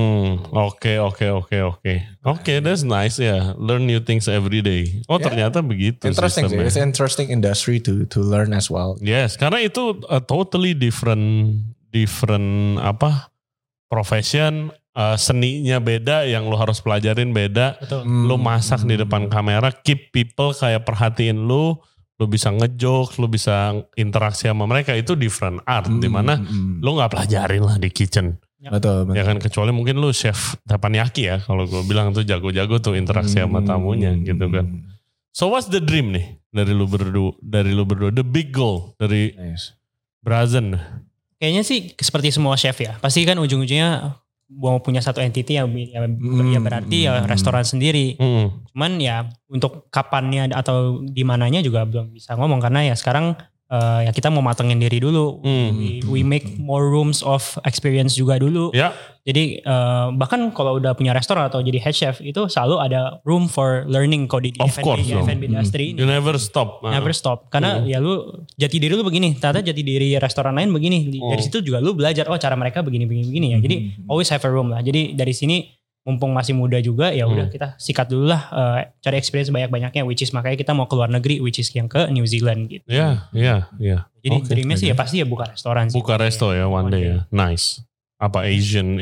Oke, that's nice ya. Apa? Learn new things every day. Ternyata begitu. Interesting sih. It's an interesting industry to learn as well. Yes, karena itu a totally different profession. Seninya beda, yang lo harus pelajarin beda. Lo masak di depan kamera, keep people kayak perhatiin lo bisa ngejokes, lo bisa interaksi sama mereka, itu different art. Dimana lo gak pelajarin lah di kitchen. Betul. Ya kan, kecuali mungkin lo chef teppanyaki ya, kalau gue bilang tuh jago-jago tuh interaksi sama tamunya gitu kan. So what's the dream nih dari lu berdua, the big goal dari Brazen? Kayaknya sih seperti semua chef ya, pasti kan ujung-ujungnya mau punya satu entity ya berarti ya restoran sendiri. Cuman ya untuk kapannya atau di mananya juga belum bisa ngomong, karena ya sekarang ya kita mau matengin diri dulu. We make more rooms of experience juga dulu. Jadi bahkan kalau udah punya restoran atau jadi head chef itu selalu ada room for learning kalau di F&B industry ini. You never stop. Never stop. Karena ya lu jati diri lu begini, ternyata jati diri restoran lain begini. Dari situ juga lu belajar cara mereka begini ya. Jadi always have a room lah. Jadi dari sini mumpung masih muda juga ya udah kita sikat dulu lah, cari experience banyak-banyaknya, which is makanya kita mau ke luar negeri, which is yang ke New Zealand gitu. Iya. Jadi dreamnya sih ya pasti ya buka restoran sih. Buka resto ya one day ya. Nice. Apa Asian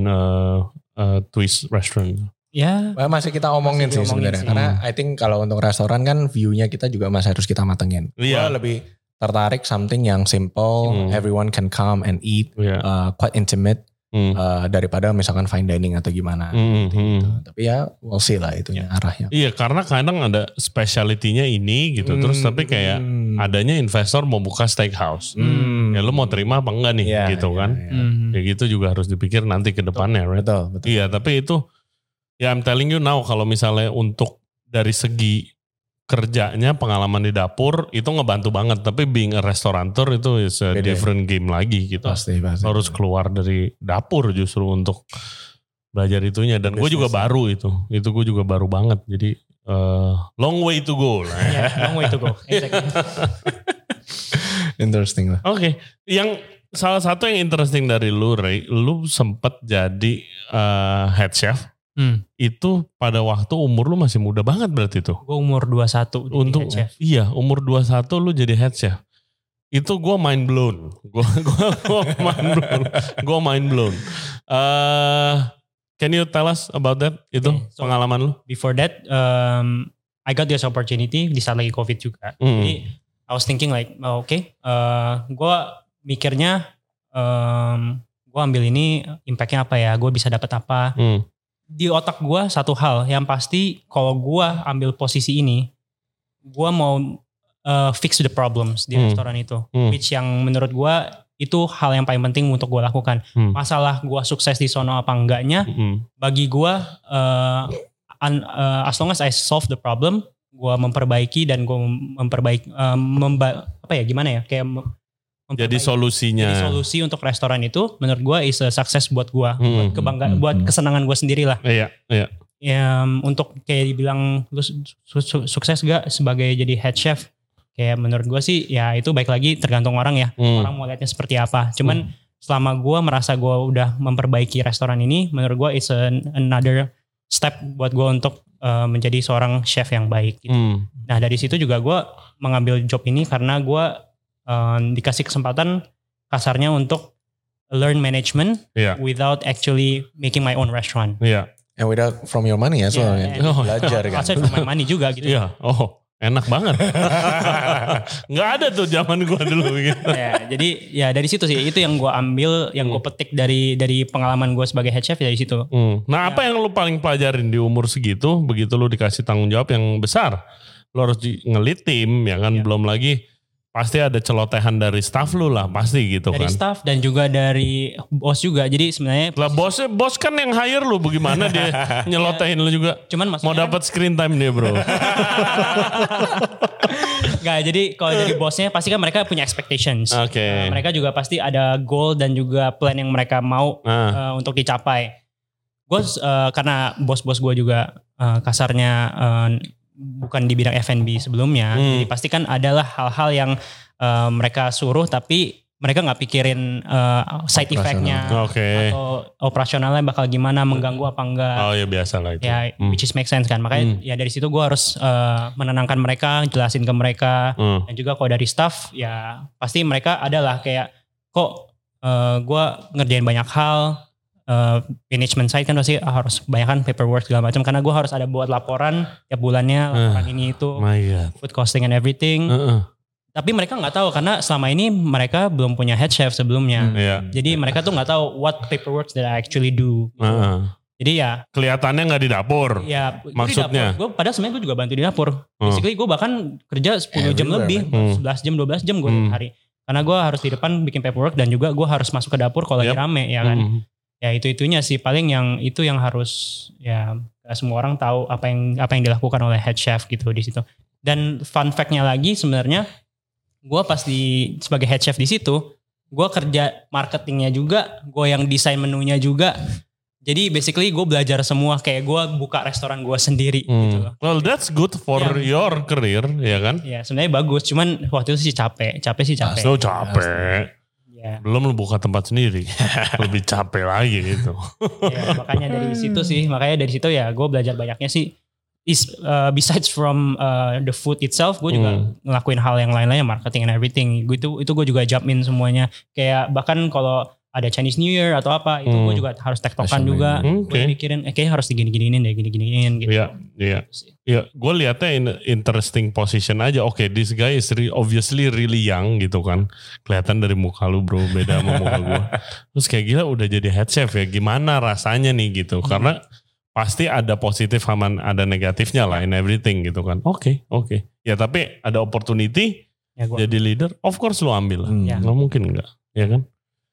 twist restaurant. Ya. Masih kita omongin sih sebenarnya. Karena I think kalau untuk restoran kan view-nya kita juga masih harus kita matengin. Gue lebih tertarik something yang simple, everyone can come and eat, quite intimate. Daripada misalkan fine dining atau gimana gitu. Tapi ya we'll see lah itunya arahnya. Iya, karena kadang ada speciality-nya ini gitu. Terus tapi kayak adanya investor mau buka steakhouse. Ya lu mau terima apa enggak nih gitu kan. Ya gitu juga harus dipikir nanti ke depannya. Right? Betul. Iya, tapi itu ya I'm telling you now, kalau misalnya untuk dari segi kerjanya, pengalaman di dapur itu ngebantu banget. Tapi being a restaurateur itu is a different game lagi gitu. Pasti. Harus keluar dari dapur justru untuk belajar itunya. Dan gue juga baru itu gue juga baru banget. Jadi long way to go lah. Long way to go. Exactly. Interesting lah. Oke. Yang salah satu yang interesting dari lu, Ray, lu sempet jadi head chef Itu pada waktu umur lu masih muda banget berarti tuh. Gue umur 21 untuk head chef. Iya, umur 21 lu jadi head chef. Itu gue mind blown. Gue mind blown. Can you tell us about that? Itu so pengalaman lu? Before that, I got this opportunity di saat lagi COVID juga. Jadi I was thinking like, gue mikirnya, gue ambil ini impactnya apa ya? Gue bisa dapat apa? Di otak gue satu hal yang pasti, kalau gue ambil posisi ini, gue mau fix the problems di restoran itu, which yang menurut gue itu hal yang paling penting untuk gue lakukan. Masalah gue sukses di sono apa enggaknya, bagi gue as long as I solve the problem, gue memperbaiki dan gue memperbaiki jadi solusinya. Jadi solusi untuk restoran itu menurut gue is a success buat gue, buat kebanggaan, buat kesenangan gue sendiri lah. Iya. Ya, untuk kayak dibilang lu sukses gak sebagai jadi head chef? Kayak menurut gue sih ya itu baik lagi tergantung orang ya. Orang mau lihatnya seperti apa. Cuman selama gue merasa gue udah memperbaiki restoran ini, menurut gue it's another step buat gue untuk menjadi seorang chef yang baik gitu. Nah dari situ juga gue mengambil job ini karena gue dikasih kesempatan kasarnya untuk learn management without actually making my own restaurant. And without from your money ya soalnya. Belajar kan. Aside from my money juga gitu. Enak banget. Nggak ada tuh zaman gue dulu gitu. Jadi ya dari situ sih, itu yang gue ambil, yang gue petik dari pengalaman gue sebagai head chef dari situ. Nah apa yang lu paling pelajarin di umur segitu, begitu lu dikasih tanggung jawab yang besar? Lu harus nge-lead tim ya kan, belum lagi pasti ada celotehan dari staff lu lah, pasti gitu dari kan. Dari staff dan juga dari bos juga. Jadi sebenarnya lah bos kan yang hire lu, bagaimana dia nyelotehin lu juga. Cuman mau dapat screen time dia bro. Enggak, jadi kalau dari bosnya pasti kan mereka punya expectations. Mereka juga pasti ada goal dan juga plan yang mereka mau untuk dicapai. Gue karena bos-bos gue juga kasarnya bukan di bidang F&B sebelumnya, jadi pasti kan adalah hal-hal yang mereka suruh tapi mereka nggak pikirin side effect-nya atau operasionalnya bakal gimana, mengganggu apa enggak. Oh ya biasa lah itu. Ya which is make sense kan, makanya ya dari situ gue harus menenangkan mereka, jelasin ke mereka, dan juga kalau dari staff ya pasti mereka adalah kayak kok gue ngerjain banyak hal. Management side kan pasti harus kebanyakan paperwork segala macam, karena gue harus ada buat laporan tiap bulannya, laporan ini itu, food costing and everything. Tapi mereka nggak tahu karena selama ini mereka belum punya head chef sebelumnya. Jadi mereka tuh nggak tahu what paperwork that I actually do. Jadi ya kelihatannya nggak di dapur. Ya maksudnya. Gue padahal sebenarnya gue juga bantu di dapur. Basically gue bahkan kerja 10 jam lebih, 11 jam 12 jam gue hari. Karena gue harus di depan bikin paperwork dan juga gue harus masuk ke dapur kalau lagi rame ya kan. Ya itu-itunya sih paling yang harus ya semua orang tahu apa yang dilakukan oleh head chef gitu di situ. Dan fun fact-nya lagi sebenarnya gue pas sebagai head chef di situ, gue kerja marketingnya juga, gue yang desain menunya juga. Jadi basically gue belajar semua, kayak gue buka restoran gue sendiri gitu loh. Well that's good for your career ya kan? Ya sebenarnya bagus, cuman waktu itu sih capek. So capek. Belum lu buka tempat sendiri, lebih capek lagi gitu. Ya, makanya dari situ ya gue belajar banyaknya sih. Besides from the food itself, gue juga ngelakuin hal yang lain-lainnya, marketing and everything. Itu gue juga jump in semuanya. Kayak bahkan kalau ada Chinese New Year atau apa, itu gue juga harus tektokan juga. Gue mikirin, kayaknya harus digini-giniin deh, gini-giniin gitu. Iya, gue liatnya interesting position aja. This guy is obviously really young gitu kan. Kelihatan dari muka lu bro, beda sama muka gue. Terus kayak gila udah jadi head chef ya, gimana rasanya nih gitu. Karena pasti ada positif sama ada negatifnya lah in everything gitu kan. Oke. Ya tapi ada opportunity jadi leader, of course lu ambil lah. Nggak mungkin enggak, ya kan?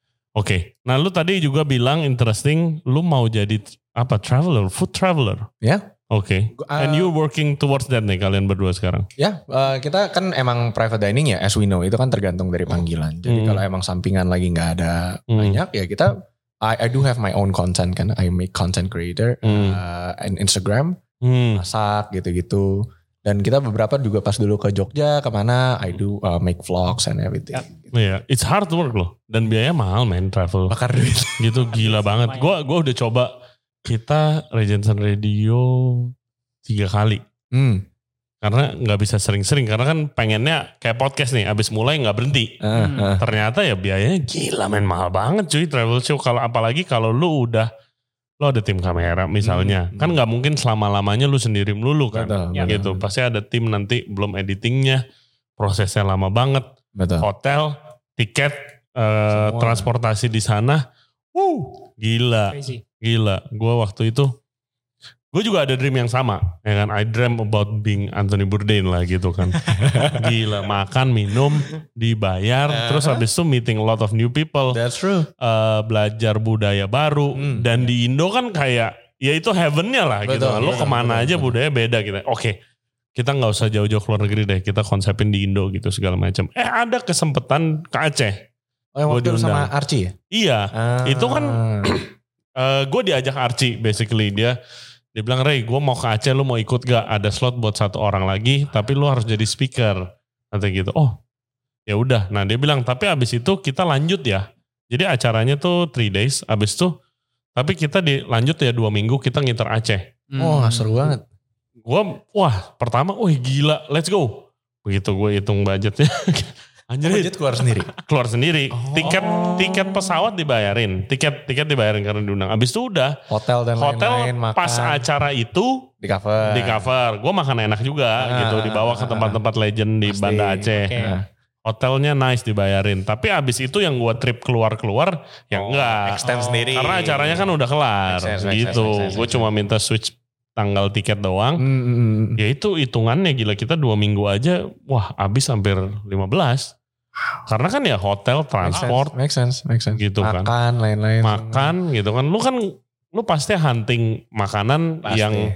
Oke. Nah lu tadi juga bilang interesting, lu mau jadi traveler, food traveler. Ya. Oke. And you working towards that nih kalian berdua sekarang? Ya, kita kan emang private dining ya, as we know, itu kan tergantung dari panggilan. Jadi kalau emang sampingan lagi nggak ada banyak, ya kita, I do have my own content kan, I make content creator, and Instagram, masak gitu-gitu. Dan kita beberapa juga pas dulu ke Jogja, kemana, I do make vlogs and everything. Iya, it's hard work loh. Dan biayanya mahal travel. Bakar duit. Gitu gila banget. Gue udah coba kita Regency Radio 3 kali. Karena gak bisa sering-sering. Karena kan pengennya kayak podcast nih. Abis mulai gak berhenti. Ternyata ya biayanya gila men. Mahal banget cuy travel show. Apalagi kalau lu ada tim kamera misalnya. Kan gak mungkin selama-lamanya lu sendiri melulu kan. Gitu. Pasti ada tim nanti belum editingnya. Prosesnya lama banget. Hotel, tiket, transportasi di sana. Gila. Crazy. Gila. Gue waktu itu gue juga ada dream yang sama, ya kan? I dream about being Anthony Bourdain lah gitu kan. Gila, makan, minum, dibayar, terus habis itu meeting a lot of new people. That's true. Belajar budaya baru, dan di Indo kan kayak, ya itu heavennya lah gitu. Lo kemana aja budaya beda gitu. Oke, kita gak usah jauh-jauh keluar negeri deh, kita konsepin di Indo gitu segala macam. Ada kesempatan ke Aceh. Oh yang waktu sama Archie ya? Iya, itu kan gue diajak Archie basically. Dia bilang, Ray, gue mau ke Aceh, lu mau ikut gak? Ada slot buat 1 orang lagi, tapi lu harus jadi speaker. Nanti gitu, oh ya udah. Nah dia bilang, tapi abis itu kita lanjut ya. Jadi acaranya tuh 3 days, abis itu, tapi kita lanjut ya 2 minggu kita ngiter Aceh. Seru banget. Pertama, gila, let's go. Begitu gue hitung budgetnya. Budget keluar sendiri? Keluar sendiri. Tiket pesawat dibayarin. Tiket dibayarin karena diundang. Abis itu udah. Hotel dan lain-lain, makan. Pas acara itu. Di cover. Gue makan enak juga gitu. Dibawa ke tempat-tempat legend di Banda Aceh. Hotelnya nice dibayarin. Tapi abis itu yang gue trip keluar-keluar. Ya enggak. Extend sendiri. Karena acaranya kan udah kelar. Gitu. Gue cuma minta switch tanggal tiket doang. Ya itu hitungannya gila. Kita 2 minggu aja. Abis hampir 15. Karena kan ya hotel, transport. Make sense. Gitu makan, kan. Lain-lain. Makan gitu kan. Lu pasti hunting makanan yang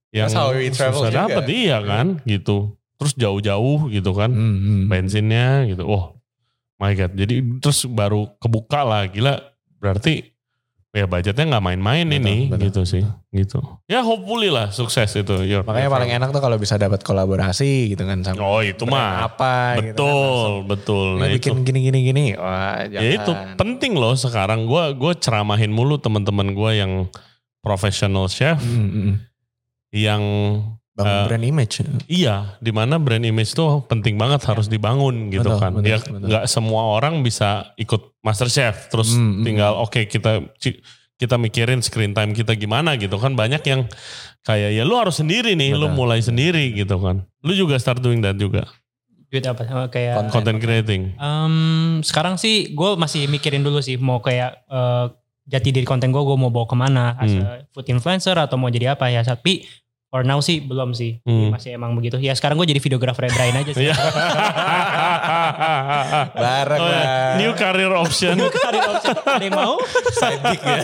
susah dapet. Iya kan gitu. Terus jauh-jauh gitu kan. Bensinnya gitu. My God. Jadi terus baru kebuka lah. Gila. Berarti ya budgetnya gak main-main betul. Gitu sih. Gitu. Ya hopefully lah sukses itu. Makanya paling enak tuh kalau bisa dapat kolaborasi gitu kan. Sama itu mah. Apa betul, gitu kan. Betul. Nah, bikin gini. Ya itu penting loh sekarang. Gue ceramahin mulu teman-teman gue yang professional chef. Yang bangun brand image. Iya, dimana brand image tuh penting banget harus dibangun gitu kan. Betul. Gak semua orang bisa ikut MasterChef terus tinggal kita mikirin screen time kita gimana gitu kan. Banyak yang kayak ya lu harus sendiri nih, lu mulai sendiri gitu kan. Lu juga start doing that juga. Apa? Kayak content creating. Sekarang sih gue masih mikirin dulu sih mau kayak jati diri konten gue mau bawa kemana. As a food influencer atau mau jadi apa ya. Tapi for now sih belum sih. Masih emang begitu. Ya sekarang gue jadi videographer Brian aja sih. Bareng lah. New career option. Ada yang mau? Side gig ya.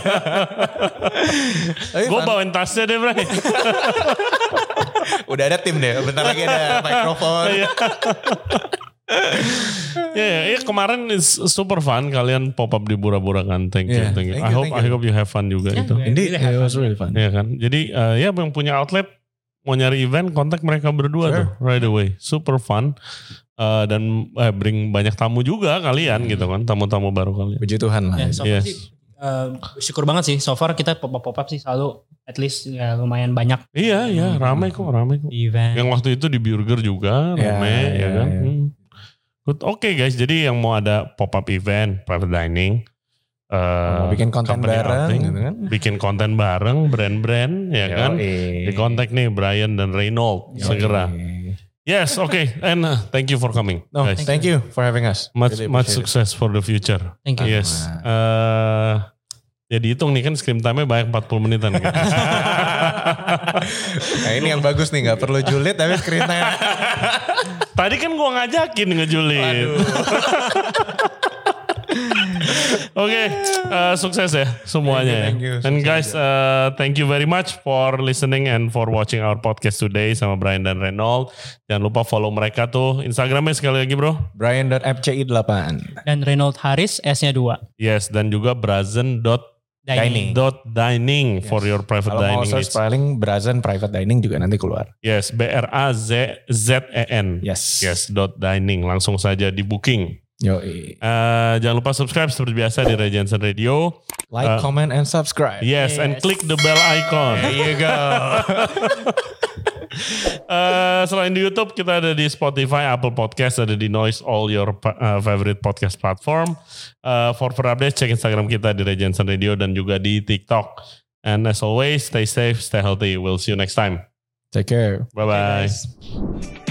Gue bawain tasnya deh Brian. Udah ada tim deh. Bentar lagi ada mikrofon. Ya, kemarin is super fun kalian pop up di Bura-Bura kan. Thank you. I hope you have fun juga itu. Indeed, it was really fun. Ya kan. Jadi yang punya outlet mau nyari event kontak mereka berdua tuh right away. Super fun. Dan bring banyak tamu juga kalian gitu kan. Tamu-tamu baru kalian. Puji Tuhan lah. So far sih syukur banget sih. So far kita pop-up sih selalu at least ya lumayan banyak. Iya, ramai kok. Event. Yang waktu itu di Burger juga ramai ya kan. Oke guys, jadi yang mau ada pop-up event, private dining, mau bikin konten bareng outing, gitu kan. Bikin konten bareng, brand-brand ya kan. Di kontak nih Brian dan Reynold segera. Yes, okay. And thank you for coming. No, guys. thank you for having us. Much success for the future. Thank you. Yes. Ya dihitung nih kan screen time-nya banyak 40 menitan. Gitu. Nah ini yang bagus nih, gak perlu julid tapi screen time. Tadi kan gue ngajakin ngejulit. Oke, sukses ya semuanya. Thank you. And guys, thank you very much for listening and for watching our podcast today sama Brian dan Reynold. Jangan lupa follow mereka tuh. Instagramnya sekali lagi bro. Brian.fci8. Dan Reynold Haris S-nya 2. Yes, dan juga brazen.dining for your private dining needs. Kalau mau search paling Brazen private dining juga nanti keluar. Yes, BRAZZEN. Yes. Yes, .dining. Langsung saja di booking. Yoi. Jangan lupa subscribe seperti biasa di Ray Jensen Radio. Like, comment, and subscribe. Yes, and click the bell icon. There you go. Selain di YouTube, kita ada di Spotify, Apple Podcast, ada di Noise, all your favorite podcast platform. For updates, cek Instagram kita di Ray Jensen Radio dan juga di TikTok. And as always, stay safe, stay healthy. We'll see you next time. Take care. Bye-bye. Okay,